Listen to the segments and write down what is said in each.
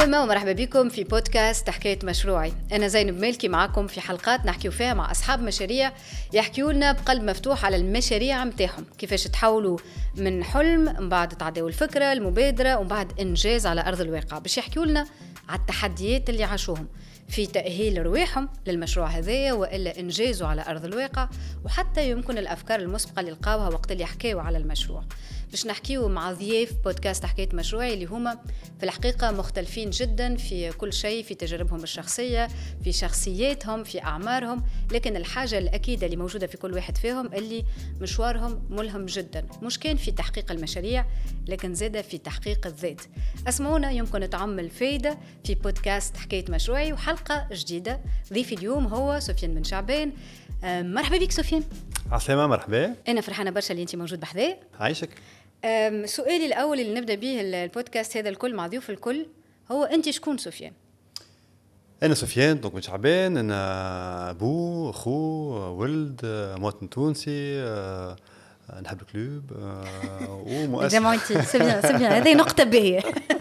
السلامة ومرحبا بكم في بودكاست حكاية مشروعي. أنا زينب مالكي معاكم في حلقات نحكيو فيها مع أصحاب مشاريع يحكيوا لنا بقلب مفتوح على المشاريع متاعهم، كيفاش تحولوا من حلم من بعد تعديوا الفكرة المبادرة ومن بعد إنجاز على أرض الواقع، باش يحكيوا لنا على التحديات اللي عاشوهم في تأهيل رواحهم للمشروع هذايا وإلا إنجازه على أرض الواقع، وحتى يمكن الأفكار المسبقة اللي لقاوها وقت اللي حكاوا على المشروع. باش نحكيو مع ضياف بودكاست حكاية مشروعي اللي هما في الحقيقة مختلفين جدا في كل شيء، في تجاربهم الشخصية، في شخصياتهم، في أعمارهم، لكن الحاجة الأكيدة اللي موجودة في كل واحد فيهم اللي مشوارهم ملهم جدا، مش كان في تحقيق المشاريع لكن زادة في تحقيق الذات. اسمعونا يمكن تعمل فايدة في بودكاست حكاية مشروعي وحلقة جديدة. ضيفي اليوم هو سفيان بن شعبان. مرحبا بك سفيان. عسلامة، مرحبا. أنا فرحانة برشا اللي أنت موجود بحذايا. عايشك. سؤالي الأول اللي نبدأ به البودكاست هذا الكل مع ضيوف الكل هو أنت شكون سفيان؟ أنا سفيان بن شعبان، أنا أبو أخو ولد مواطن تونسي، نحب الكلوب ومؤسس جمعتي سبيان هذه نقطة باهية.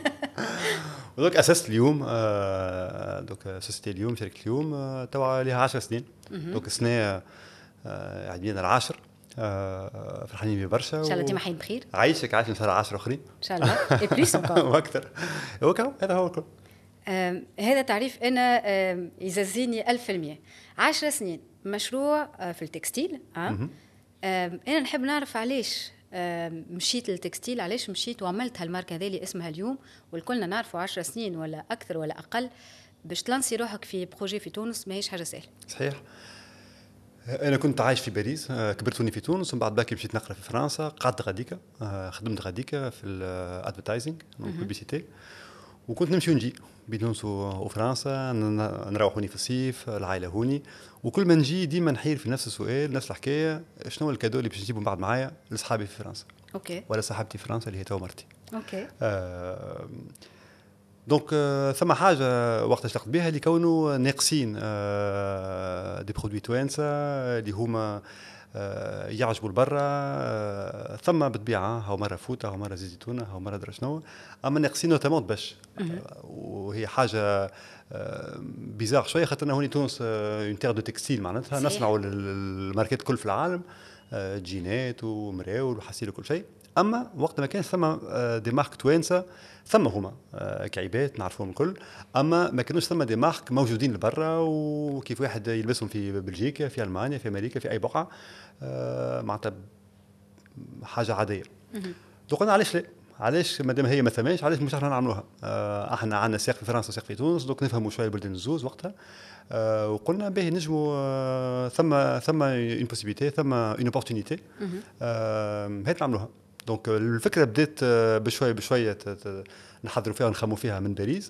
ودوك أسست اليوم دوك أسست اليوم شركة اليوم توا لها 10 سنين. دوك السنة عدينا العاشر. فرحانين بيه برشا. ان شاء الله ديما حي بخير. عايشك ان شاء الله 10 اخرين ان شاء الله اي بليس واكثر. هذا هو الكل. هذا تعريف انا يززيني 1000%. 10 سنين مشروع في التكستيل. انا نحب نعرف علاش مشيت للتكستيل، علاش مشيت وعملت هالماركه هذه اللي اسمها اليوم، والكلنا نعرفوا 10 سنين ولا اكثر ولا اقل باش تلانسي روحك في بروجي في تونس ماهيش حاجه سهله. صحيح. أنا كنت عايش في باريس، كبرتوني في تونس، ومن بعد باكي مشيت نقرا في فرنسا، قعدت غاديكا، خدمت غاديكا في الادفرتايزنج والبيبيسيتي، وكنت نمشي ونجي بين تونس وفرنسا، نروحوني في الصيف، العائلة هوني، وكل ما نجي ديما نحير في نفس السؤال نفس الحكاية، شنو الكادو اللي باش نجيبه من بعد معايا لصحابي في فرنسا. اوكي. ولا صاحبتي في فرنسا اللي هي تو مرتي. اوكي. دونك ثم حاجه وقت اشتغلت بها اللي كونوا ناقصين دي برودوي توانسه اللي هما يعجبوا لبرا، ثم بالطبيعه هاو مره فوطه هاو مره زيتونه هاو مره درا شنو، اما ناقصين نوتامون باش وهي حاجه بيزار شويه، خاطرنا هوني تونس اون تير دو تكستيل، معناتها نصنعوا الماركات كل في العالم، جينات ومراول وحصيل وكل شيء. اما وقت ما كان ثم دي مارك توانسه، ثم هما كعيبات نعرفوهم الكل، اما ما كانوش ثم دي مارك موجودين لبرا وكيف واحد يلبسهم في بلجيكا في المانيا في امريكا في اي بقعه، معناتها حاجه عاديه. دونك قلنا علاش لا، علاش مادام هي ما ثماش علاش مش احنا نعملوها. احنا عندنا ساق في فرنسا وساق في تونس، دونك نفهموا شويه البلدان الزوز وقتها. وقلنا باهي نجموا ثم اون بوسيبيتي، ثم اون اوبورتونيتي، هات نعملوها. دونك الفكره بدات بشويه نحضروا فيها ونخموا فيها من باريس.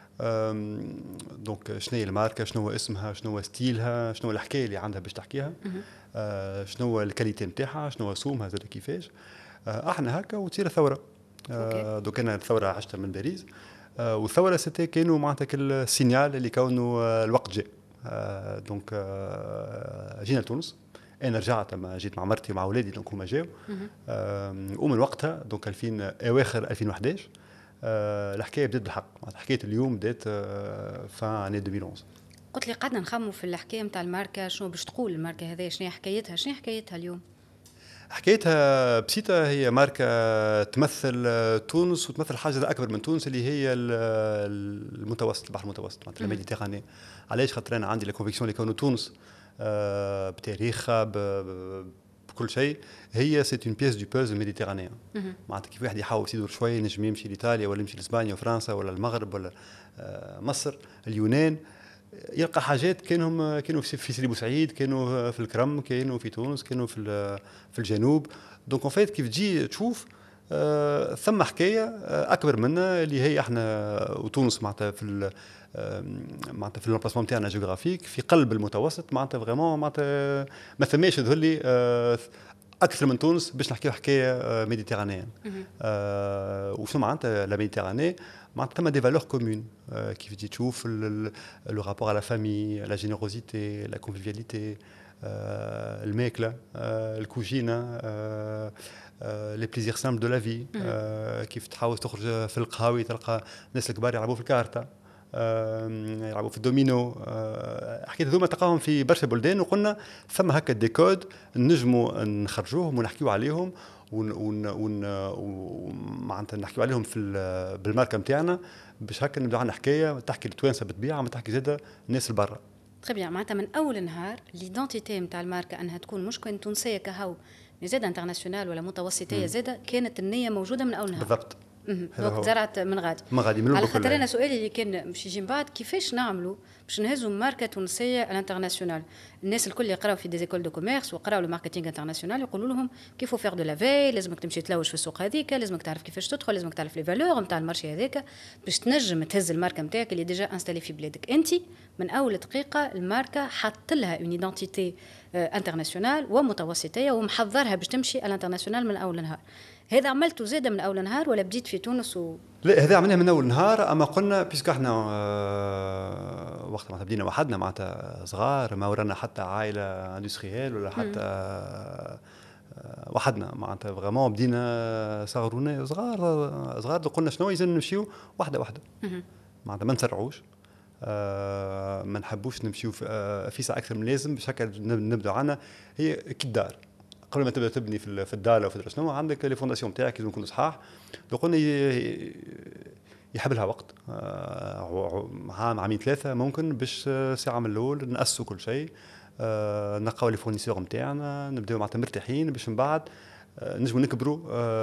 دونك شنو هي الماركه، شنو هو اسمها، شنو هو ستيلها، شنو هو الحكايه اللي عندها باش تحكيها، شنو هو الكاليتي نتاعها، شنو هو سومها زاد كيفاش. احنا هكا وتصير الثوره. دونك انا الثوره عشتها من باريس، والثوره ستي كانوا معناتها كل سينيال اللي كونوا الوقت جاء. دونك جينا لتونس، انا رجعت لما جيت مع مرتي ومع اولادي، دونك هما جاوا. ومن وقتها دونك 2000 اواخر 2011 الحكايه بدات بالحق، حكايه اليوم بدات فان 2011. قلت لي قعدنا نخموا في الحكايه نتاع الماركه، شنو باش تقول الماركه هذه، شنو حكايتها، شنو حكايتها اليوم؟ حكايتها بسيطة، هي ماركة تمثل تونس وتمثل حاجة أكبر من تونس اللي هي المتوسط، البحر المتوسط، معناتها الميديتيراني. علاش؟ خاطر أنا عندي الكونفيكسيون اللي كونوا تونس بتاريخها بكل شيء، هي سيت اون بيس دو بوزل ميديتيرانيان. معناتها كيف واحد يحاول يدور شوية نجم يمشي لإيطاليا ولا يمشي لإسبانيا وفرنسا ولا المغرب ولا مصر اليونان، يلقى حاجات كانوا في سيدي بوسعيد، كانوا في الكرم، كانوا في تونس، كانوا في الجنوب. دونك اون فايت كيف تجي تشوف ثم حكايه اكبر منا اللي هي احنا وتونس معناتها في الامبلاسمون تاعنا جيوغرافيك في قلب المتوسط، معناتها فريمون معناتها ما ثماش يظهر لي اكثر من تونس باش نحكيو حكايه ميديتيرانيين. وشنو معناتها لا ميديتيراني؟ معناتها ثم دي فالور كومون، كيف تجي تشوف لو رابور على فامي، لا جينيروزيتي، لا كونفيفياليتي، الماكله، الكوجينه، لي بليزير سامبل دو لا في، كيف تحاول تخرج في القهاوي تلقى الناس الكبار يلعبوا في الكارتا، يلعبوا في الدومينو. حكيت هذوما تلقاهم في برشا بلدان، وقلنا ثم هكا دي كود نجموا نخرجوهم ونحكيو عليهم ومعناتها نحكيو عليهم في بالماركه نتاعنا، باش هكا نبداو عندنا حكايه تحكي التوانسه بالطبيعه، ما تحكي زاده الناس البرا. تري بيان، معناتها من اول نهار ليدونتيتي نتاع الماركه انها تكون مش كان تونسيه كهو زاده انترناسيونال ولا متوسطيه زاده، كانت النيه موجوده من اول نهار. بالضبط. دونك زرعت من غادي من على خاطر انا سؤالي اللي كان باش يجي من بعد، كيفاش نعملوا باش نهزوا ماركه تونسيه الانترناسيونال؟ الناس الكل يقراو في ديزيكول دو كوميرس وقراو الماركتينغ انترناسيونال، يقولوا لهم كيف فير دو لافي، لازمك تمشي تلوج في السوق هذيك، لازمك تعرف كيفاش تدخل، لازمك تعرف لي فالور نتاع المارشي هذاك باش تنجم تهز الماركه نتاعك اللي ديجا انستالي في بلادك. انت من اول دقيقه الماركه حط لها اون ايدنتيتي انترناسيونال ومتوسطيه ومحضرها باش تمشي الانترناسيونال من اول نهار. هذا عملته زاده من اول نهار ولا بديت في تونس لا، هذا عملناه من اول نهار. اما قلنا بيسك احنا وقت ما بدينا وحدنا معناتها صغار، ما ورانا حتى عائله اندستريال ولا حتى وحدنا، معناتها فريمون بدينا صغرونا صغار قلنا شنو يلزم نمشيو واحده واحده، معناتها ما نسرعوش، ما نحبوش نمشيو في ساعه اكثر من لازم، باش هكا نبداو عنا هي كي الدار. قبل ما تبدا تبني في الدار وفي شنو عندك لي فونداسيون تاعك لازم يكونوا صحاح. لو قلنا يحب لها وقت، عام عامين ثلاثه ممكن باش ساعه من الاول ناسسوا كل شيء، نلقاو لي فورنيسور نتاعنا، نبداو معناتها مرتاحين باش من بعد نجموا نكبروا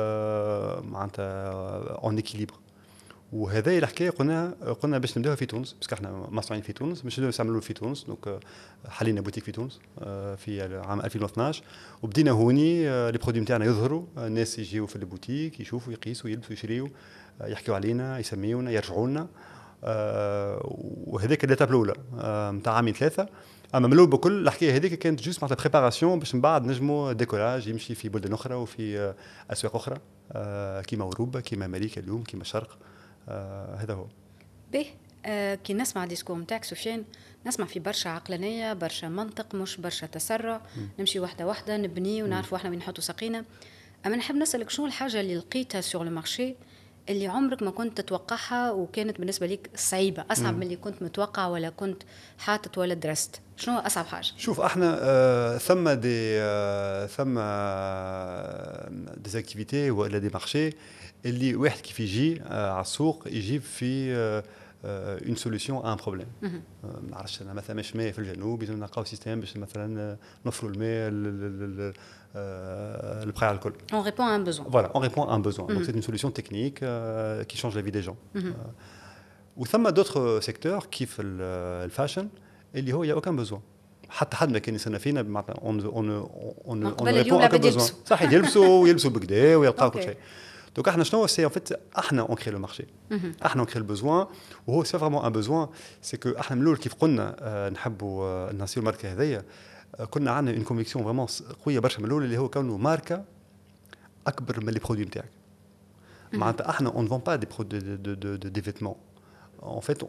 معناتها اون اكيليبر. وهذا الحكايه قلنا باش نبداوها في تونس، باسكو احنا مصنعين في تونس، باش نعملوا في تونس. دونك حلينا بوتيك في تونس في عام 2012، وبدينا هوني لي برودوي نتاعنا يظهروا، الناس يجيو في البوتيك يشوفوا يقيسوا يلبسوا يشريوا، يحكيوا علينا يسميونا يرجعوا لنا. وهذيك الاتاب الاولى نتاع عامين ثلاثه. اما من الاول بكل الحكايه هذيك كانت جوست معناتها بريباراسيون باش من بعد نجموا ديكولاج يمشي في بلدان اخرى وفي اسواق اخرى، كيما اوروبا كيما امريكا اليوم كيما الشرق. هذا هو. به كي نسمع ديسكور نتاعك سفيان، نسمع في برشا عقلانيه، برشا منطق، مش برشا تسرع. نمشي واحده واحده نبني ونعرفوا احنا وين نحطوا ساقينا. اما نحب نسالك شنو الحاجه اللي لقيتها سور المارشي اللي عمرك ما كنت تتوقعها وكانت بالنسبه لك صعيبه، اصعب من اللي كنت متوقع ولا كنت حاطط ولا درست؟ شنو اصعب حاجه؟ شوف احنا ثم ديزاكتيفيتي ولا دي مارشي اللي واحد كيف يجي على السوق يجيب في اون سوليسيون ان بروبليم. ما نعرفش انا مثلا مش ماء في الجنوب لازم نلقاو سيستيم باش مثلا نوفروا الماء البقاع الكل. On répond à un besoin. Voilà, on répond à un besoin. Donc c'est une solution technique qui change la vie des gens. وثم d'autres secteurs كيف الفاشن اللي هو il y a aucun besoin. حتى حد ما كان يسنى فينا معناتها on répond à un besoin. صح، يلبسوا بكدا ويلقاو كل شيء. Donc احنا شنو سي en fait احنا on crée le marché. احنا on crée le besoin وهو c'est vraiment un besoin. c'est que احنا من الاول كيف قلنا نحبوا نصيروا ماركه هذيا، كنا عندنا اون كونفيكسيون فريمون قويه برشا من الاول اللي هو كونه ماركه اكبر من لي برودوي نتاعك. معناتها احنا اون فون با دي برودوي دي فيتمون، en fait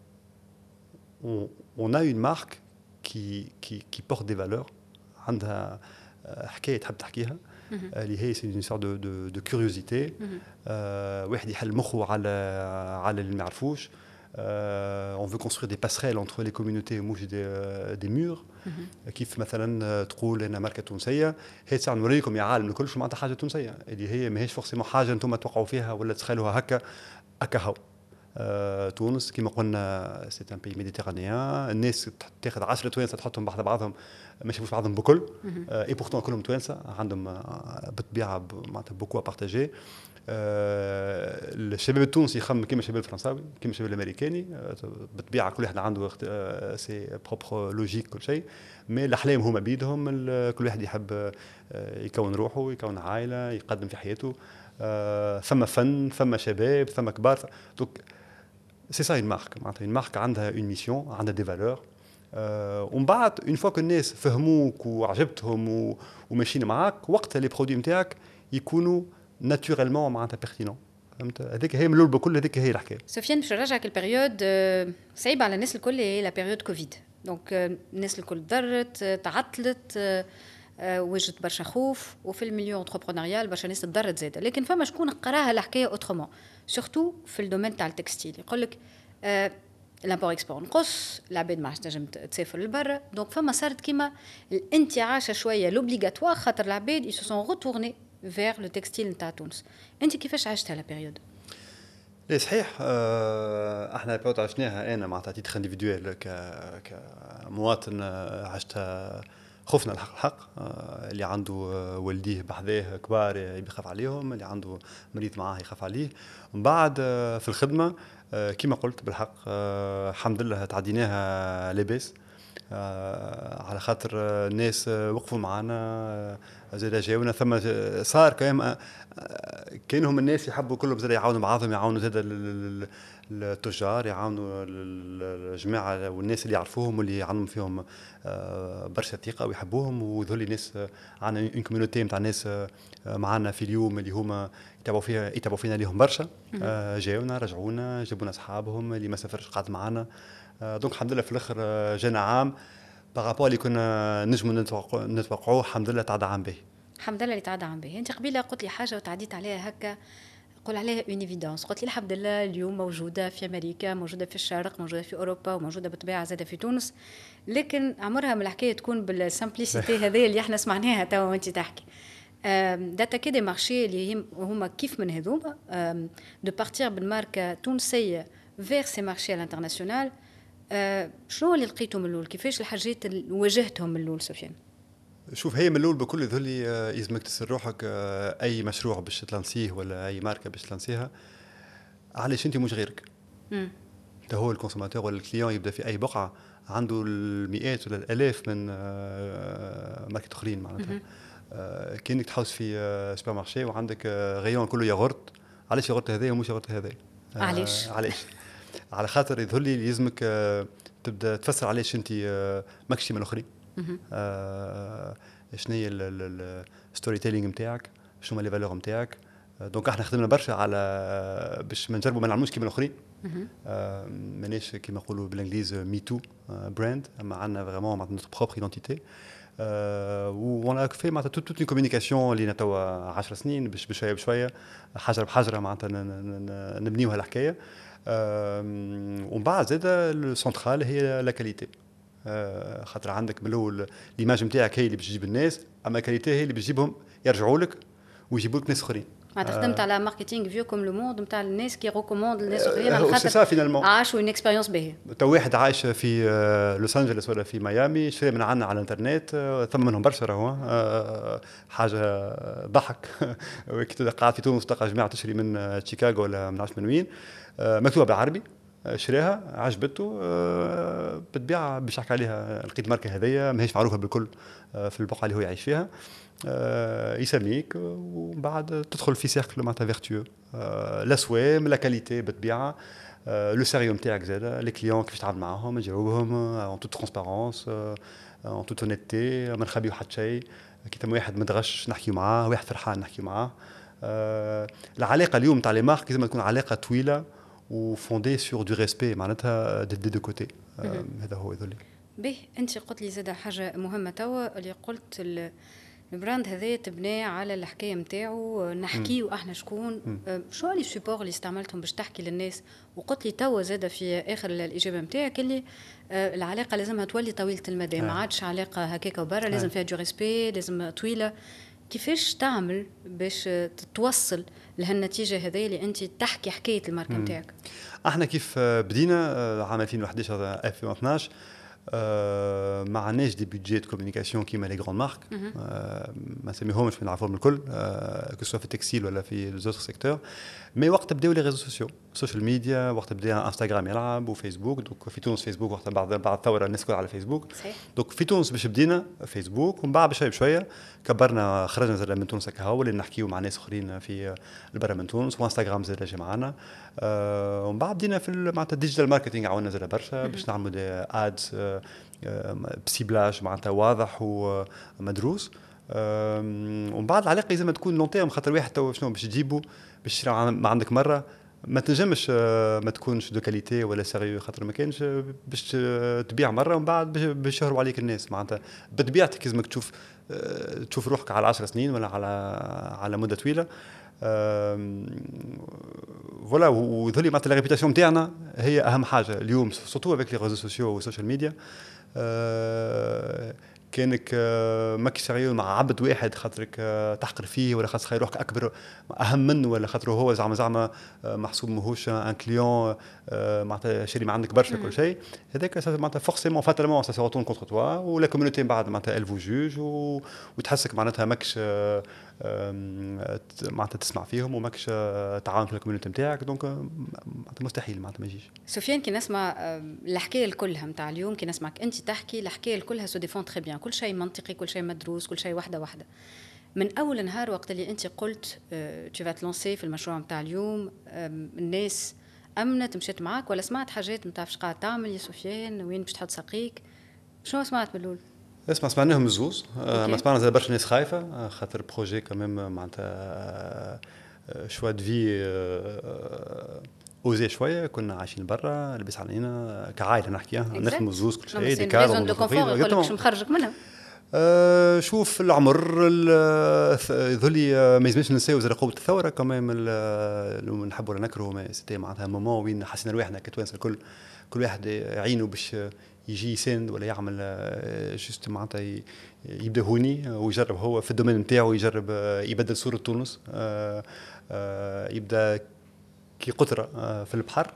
on a une marque qui porte des valeurs، عندها حكايه تحب تحكيها اللي هي سي اون سورت دو كيوريوزيتي. واحد يحل مخه على اللي ما يعرفوش. on veut construire des passerelles entre les communautés مش des murs. كيف مثلا تقول انا ماركه تونسيه، هي تساعد نوريكم يا عالم الكل شو معناتها حاجه تونسيه، اللي هي ماهيش فورسيمون حاجه انتم توقعوا فيها ولا تخيلوها هكا هو. تونس كما قلنا سي ان بي ميديتيرانيان، الناس تاخذ 10 توانسه تحطهم بعض بعضهم ما يشوفوش بعضهم بكل، اي بورتون كلهم توانسه عندهم بالطبيعه معناتها بوكو ا بارتاجي. الشباب التونسي يخمم كيما الشباب الفرنساوي كيما الشباب الامريكاني، بالطبيعه كل واحد عنده سي بروبر لوجيك كل شيء، مي الاحلام هما بيدهم، كل واحد يحب يكون روحه يكون عائله يقدم في حياته. ثم فن ثم شباب ثم كبار. دونك سي سا اون مارك، معناتها اون مارك عندها اون ميسيون عندها دي فالور. ومن بعد اون فوا كو الناس فهموك وعجبتهم وماشيين معاك، وقتها لي برودوي نتاعك يكونوا ناتوريلمون معناتها بيرتينون. فهمت؟ هذيك هي من الاول بكل، هذيك هي الحكايه. سفيان باش نرجعك البيريود صعيبه على الناس الكل، هي لا بيريود كوفيد. دونك الناس الكل ضرت تعطلت، وجدت برشا خوف، وفي المليون انتربرونيال برشا ناس تضرت زاده، لكن فما شكون قراها الحكايه اوترومون سورتو في الدومين تاع التكستيل. يقول لك لامبور اكسبور نقص، العباد ما عادش تنجم تسافر لبرا، دونك فما صارت كيما الانتعاشه شويه لوبليغاتوار، خاطر العباد يسو سون روتورني فيغ لو تكستيل نتاع تونس. انت كيفاش عشتها لا بيريود؟ ايه صحيح. احنا بيوت عشناها انا مع تيتر انديفيدويل كمواطن. عشتها خوفنا الحق اللي عنده والديه بحذاه كبار يخاف عليهم، اللي عنده مريض معاه يخاف عليه. ومن بعد في الخدمه كما قلت بالحق الحمد لله تعديناها لاباس، على خاطر الناس وقفوا معنا زاد جاونا. ثم صار كانهم الناس يحبوا كلهم زاد يعاونوا بعضهم، يعاونوا زاد التجار، يعاونوا الجماعه والناس اللي يعرفوهم واللي عندهم فيهم برشا ثقه ويحبوهم. وذولي ناس عندنا اون كوميونيتي نتاع ناس معنا في اليوم اللي هما يتابعوا فينا ليهم برشا. جاونا رجعونا جابونا اصحابهم اللي ما سافرش قعد معنا. دونك الحمد لله في الاخر جانا عام بارابور اللي كنا نجموا نتوقعوه. الحمد لله تعدى عام به. الحمد لله اللي تعدى عام به. انت قبيله قلت لي حاجه وتعديت عليها هكا، قول عليها اون ايفيدونس. قلت لي الحمد لله اليوم موجوده في امريكا، موجوده في الشرق، موجوده في اوروبا، وموجوده بالطبيعه زاده في تونس، لكن عمرها من الحكايه تكون بالسامبليسيتي هذه اللي احنا سمعناها توا وانت تحكي. داتا كده مارشي اللي هما كيف من هذوما دو بارتير بالماركه تونسيه فيغ سي مارشي الانترناسيونال. شنو اللي لقيتوا من الاول؟ كيفاش الحاجات اللي واجهتهم من الاول سفيان؟ شوف، هي من الاول بكل ذولي يلزمك تسر روحك اي مشروع باش تلانسيه ولا اي ماركه باش تلانسيها، علاش انت مش غيرك. انت هو الكونسوماتور ولا الكليون يبدا في اي بقعه عنده المئات ولا الالاف من ماركات اخرين معناتها. كانك تحوس في سوبر مارشي وعندك غيون كله ياغورت، علاش ياغورت هذا ومش ياغورت هذا؟ علاش؟ على خاطر يظهر لي يلزمك تبدا تفسر علاش انت ماكش كيما الاخرين. شنو هي الستوري تيلينغ نتاعك، شنو هما لي فالور نتاعك. دونك احنا خدمنا برشا على باش ما نجربوا ما نعملوش كيما الاخرين. ماناش كيما نقولوا بالانجليز مي تو براند، اما عندنا فريمون معناتها نوتر بروبر ايدونتيتي. وانا في معناتها توت اون كوميونيكاسيون اللي توا 10 سنين باش بشويه بشويه حجر بحجره معناتها نبنيوها الحكايه. ومن بعد زاد السنترال هي لا كاليتي، خاطر عندك من الاول ليماج نتاعك هي اللي باش تجيب الناس، اما الكاليتي هي اللي باش تجيبهم يرجعوا لك ويجيبوا لك ناس اخرين. خدمت على ماركتينغ فيو كوم لو موند نتاع الناس كي ريكوموند الناس اخرين على خاطر عاشوا اون اكسبيريونس باهيه. تو واحد عايش في لوس انجلوس ولا في ميامي شري من عندنا على الانترنت، ثم منهم برشا راهو حاجه ضحك. كي قاعد في تونس تلقى جماعه تشري من شيكاغو ولا من عرفت من وين، مكتوبه بالعربي، شراها عجبته، بتبيع باش يحكي عليها لقيت ماركه هذيا ماهيش معروفه بالكل في البقعه اللي هو يعيش فيها، يسميك ومن بعد تدخل في سيركل معناتها فيرتيو. الاسوام لا كاليتي بتبيعها، لو سيريو نتاعك زاد، لي كليون كيفاش تتعامل معاهم تجاوبهم اون توت ترونسبارونس اون توت اونيتي، ما نخبيو حتى شيء. كي تم واحد متغش نحكيو معاه، واحد فرحان نحكيو معاه. العلاقه اليوم تاع لي مارك لازم تكون علاقه طويله وفوندي سور دو ريسبي معناتها دو كوتي. هذا هو يذلي به. انت قلت لي زاد حاجه مهمه توا اللي قلت البراند هذا تبنى على الحكايه نتاعو، نحكيو احنا شكون، شو لي سيبور اللي استعملتهم باش تحكي للناس. وقلت لي توا زاد في اخر الاجابه نتاعك اللي العلاقه لازمها تولي طويله المدى، ما عادش علاقه هكاك وبرا، لازم فيها دو ريسبي، لازم طويله. كيفاش تعمل باش توصل لهالنتيجه هذه اللي انت تحكي حكايه الماركه نتاعك؟ احنا كيف بدينا عام 2011 2012 ما عندناش دي بيدجيت كوميونيكاسيون كيما لي غراند مارك، ما نسميهمش ما نعرفوهم الكل كسوا في التكستيل ولا في لي زوتر سيكتور. مي وقت بداو لي ريزو سوسيو السوشيال ميديا، وقت بدا انستغرام يلعب وفيسبوك. دوك في تونس فيسبوك وقت بعد الثوره الناس كلها على فيسبوك. دوك في تونس باش بدينا فيسبوك، ومن بعد بشويه بشويه كبرنا، خرجنا زاد من تونس هكا هو اللي نحكيو مع ناس اخرين في البرا من تونس، وانستغرام زاد جا معنا. ومن بعد بدينا في معناتها الديجيتال ماركتينغ عاونا زاد برشا باش نعملوا دي ادز بسيبلاج معناتها واضح ومدروس. ومن بعد العلاقه لازم تكون لون تيرم، خاطر واحد تو شنو باش تجيبه باش ما عندك مره ما تنجمش ما تكونش دو كاليتي ولا سيريو، خاطر ما كانش باش تبيع مره ومن بعد باش يشهروا عليك الناس. معناتها بطبيعتك لازمك تشوف روحك على 10 سنين ولا على مده طويله. فوالا، وذولي معناتها لا ريبيتاسيون نتاعنا هي اهم حاجه اليوم، سورتو افيك لي ريزو سوسيو والسوشيال ميديا. كانك ماكش سيريو مع عبد واحد خاطرك تحقر فيه، ولا خاطر روحك اكبر اهم منه، ولا خاطر هو زعما محسوب ماهوش ان كليون معناتها شاري ما عندك برشا كل شيء. هذاك معناتها فورسيمون فاتالمون سا سي روتون كونتر توا، ولا كوميونيتي بعد معناتها ال فو جوج، وتحسك معناتها ماكش معناتها تسمع فيهم وماكش تعاون في الكوميونيتي نتاعك. دونك معناتها مستحيل معناتها ما يجيش. سفيان، كي نسمع الحكايه كلها نتاع اليوم، كي نسمعك انت تحكي الحكايه كلها سو ديفون تري بيان، كل شيء منطقي، كل شيء مدروس، كل شيء واحده من اول نهار وقت اللي انت قلت تو فات لونسي في المشروع نتاع اليوم. الناس امنت مشيت معاك، ولا سمعت حاجات ما تعرفش قاعد تعمل يا سفيان، وين باش تحط ساقيك؟ شنو سمعت من الاول؟ سمعناهم الزوز. ما سمعنا زي برشا ناس خايفه، خاطر بروجي كمام معناتها شوا دو في اوزي شويه. كنا عايشين برا، لبس علينا كعائله نحكيها، نخدموا الزوز كل شيء دي كار يقول لك شو مخرجك منها. شوف العمر ذولي ما يلزمش ننساو زي قوه الثوره كمان. لو نحبوا ولا نكرهوا، سيتي معناتها مومون وين حسينا روحنا كتوانسه كل واحد يعينه باش يجي يساند ولا يعمل جوست معناتها يبدا هوني ويجرب هو في الدومين نتاعو، يجرب يبدل صوره تونس، يبدا كي قطره في البحر.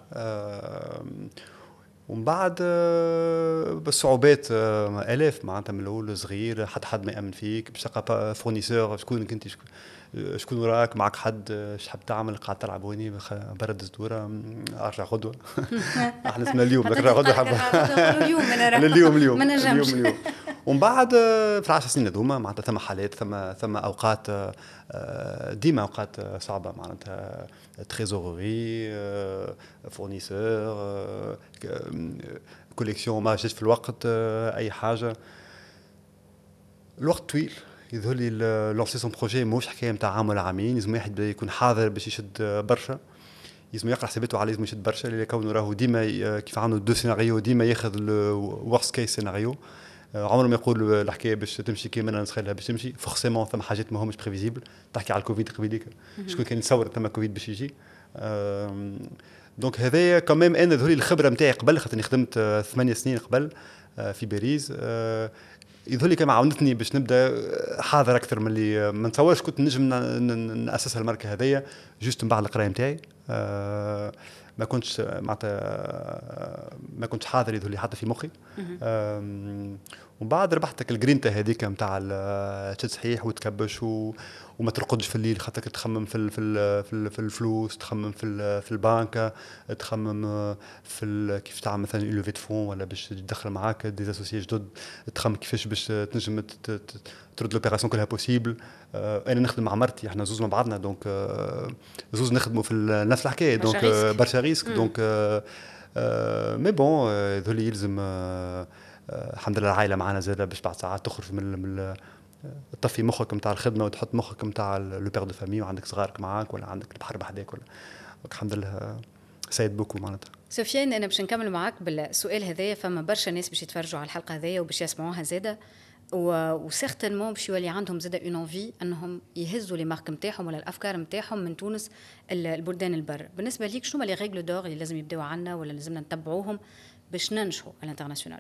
ومن بعد بالصعوبات الاف معناتها من الاول صغير، حد ما يامن فيك باش تلقى فورنيسور شكون كنت، شكون وراك، معك حد شحب تعمل، قاعد تلعب ويني برد الزدوره، ارجع غدوه. احنا اسمنا اليوم لكن غدوه اليوم ما نجمش. ومن بعد في 10 سنين هذوما معناتها ثم حالات، ثم اوقات ديما اوقات صعبه معناتها تريزوري، فورنيسور، كوليكسيون ما جاتش في الوقت، اي حاجه. الوقت طويل يظهر لي لونسي سون بروجي موش حكايه نتاع عام ولا عامين. لازم واحد يكون حاضر باش يشد برشا، لازم يقرا حساباته على، لازم يشد برشا، لان كونه راهو ديما كيف عنده دو سيناريو، ديما ياخذ الورست كيس سيناريو. عمره ما يقول الحكايه باش تمشي كيما انا نسخلها باش تمشي. فورسيمون ثم حاجات ما همش بريفيزيبل. تحكي على الكوفيد قبيليك، شكون كان يتصور ثم كوفيد باش يجي؟ دونك هذايا كمان انا ذولي الخبره نتاعي قبل، خاطرني خدمت 8 سنين قبل في باريس. يظهر كما عاونتني باش نبدا حاضر اكثر من اللي ما نتصورش كنت نجم ناسسها الماركه هذيا جوست من بعد القرايه نتاعي. ما كنتش معناتها ما كنتش حاضر يظهر لي حتى في مخي. ومن بعد ربحتك الجرينتا هذيك نتاع تشد صحيح وتكبش وما ترقدش في الليل، خاطرك تخمم في الفلوس، تخمم في البنكه، تخمم في كيف تعمل مثلا لوفي دو فون، ولا باش تدخل معاك دي اسوسيي جدد، تخمم كيفاش باش تنجم ترد لوبيراسيون كلها بوسيبل. انا نخدم مع مرتي، احنا زوز مع بعضنا، دونك زوز نخدموا في نفس الحكايه، دونك برشا ريسك. دونك مي بون ذولي يلزم الحمد لله العائله معنا زاده باش بعد ساعات تخرج من تطفي مخك نتاع الخدمه وتحط مخك نتاع لو بير دو فامي، وعندك صغارك معاك ولا عندك البحر بحداك، ولا الحمد لله سايد بوكو معناتها. سفيان، انا باش نكمل معاك بالسؤال هذايا. فما برشا ناس باش يتفرجوا على الحلقه هذيا وباش يسمعوها زاده، وسيغتينمون باش يولي عندهم زاده اون انفي انهم يهزوا لي مارك نتاعهم ولا الافكار نتاعهم من تونس البلدان البر. بالنسبه ليك شنو لي ريغل دور اللي لازم يبداو عنا ولا لازمنا نتبعوهم باش ننجحوا على الانترناسيونال؟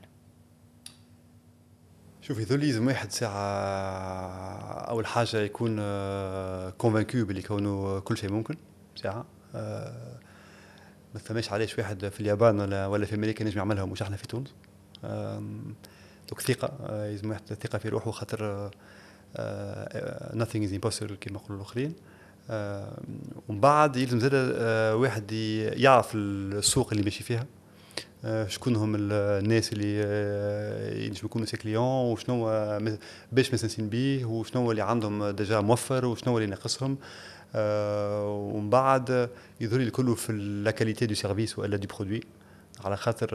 شوف يذولي لازم واحد ساعة أول حاجة يكون كونفانكو باللي كونه كل شيء ممكن. ساعة ما ثماش علاش واحد في اليابان ولا في أمريكا نجم يعملها ومش احنا في تونس. دوك ثقة، لازم واحد ثقة في روحه، خاطر nothing is impossible كما يقولوا الآخرين. ومن بعد يلزم زاد واحد يعرف السوق اللي ماشي فيها، شكون هم الناس اللي ينجموا يكونوا سي كليون، وشنو باش مستانسين بيه، وشنو اللي عندهم ديجا موفر، وشنو اللي ناقصهم. ومن بعد يظهر لي كله في لا كاليتي دو سيرفيس ولا دو برودوي، على خاطر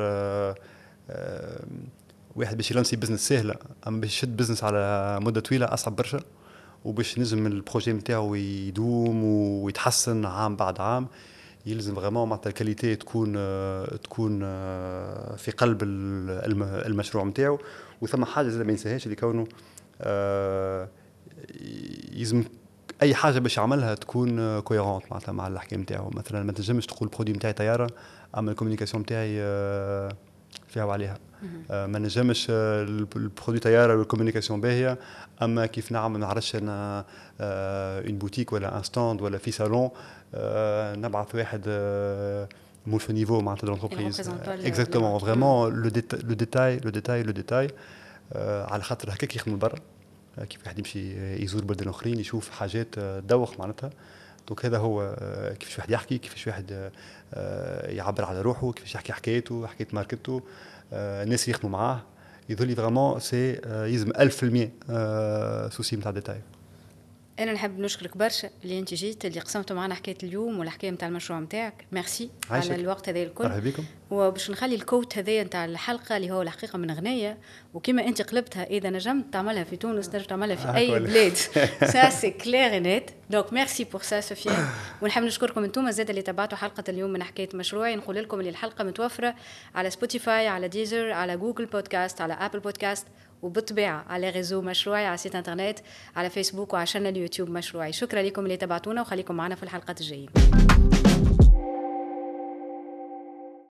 واحد باش يلانسي بزنس سهله، اما باش يشد بزنس على مده طويله اصعب برشا. وباش نجم البروجي نتاعو يدوم ويتحسن عام بعد عام، يلزم فريمون معناتها الكاليتي تكون في قلب المشروع نتاعو. وثم حاجه زي ما ينساهاش اللي كونه يلزم اي حاجه باش يعملها تكون كويرونت معناتها مع الحكايه نتاعو. مثلا ما تنجمش تقول البرودوي نتاعي طياره اما الكوميونيكاسيون نتاعي فيها وعليها. ما نجمش البرودوي طياره والكوميونيكاسيون باهيه اما كيف نعمل ما نعرفش انا اون بوتيك ولا ان ستاند ولا في صالون نبعث واحد مول في نيفو معناتها دو لونتربريز. اكزاكتومون فريمون لو ديتاي على خاطر هكاك يخدموا برا. كيف واحد يمشي يزور بلدان اخرين يشوف حاجات دوخ معناتها. دونك هذا هو كيفاش واحد يحكي، كيفاش واحد يعبر على روحه، كيفاش يحكي حكايته، حكايه ماركته. الناس يخدموا معاه يظل فريمون سي يلزم 1000% سوسي نتاع ديتاي. انا نحب نشكرك برشا اللي انت جيت، اللي قسمتوا معنا حكايه اليوم والحكايه نتاع المشروع نتاعك. ميرسي على الوقت هذا الكل. مرحبا بكم. وباش نخلي الكوت هذا نتاع الحلقه اللي هو الحقيقه من غنيه، وكما انت قلبتها اذا نجمت تعملها في تونس تنجم تعملها في اي بلاد. سا سي كلير نت. دونك ميرسي بور سا سوفيا. ونحب نشكركم انتم زاد اللي تابعتوا حلقه اليوم من حكايه مشروعي. نقول لكم اللي الحلقه متوفره على سبوتيفاي، على ديزر، على جوجل بودكاست، على ابل بودكاست، وبالطبيعة على غيزو مشروعي، على سيت انترنت، على فيسبوك وعلى شانل اليوتيوب مشروعي. شكرا لكم اللي تابعتونا وخليكم معنا في الحلقات الجاية.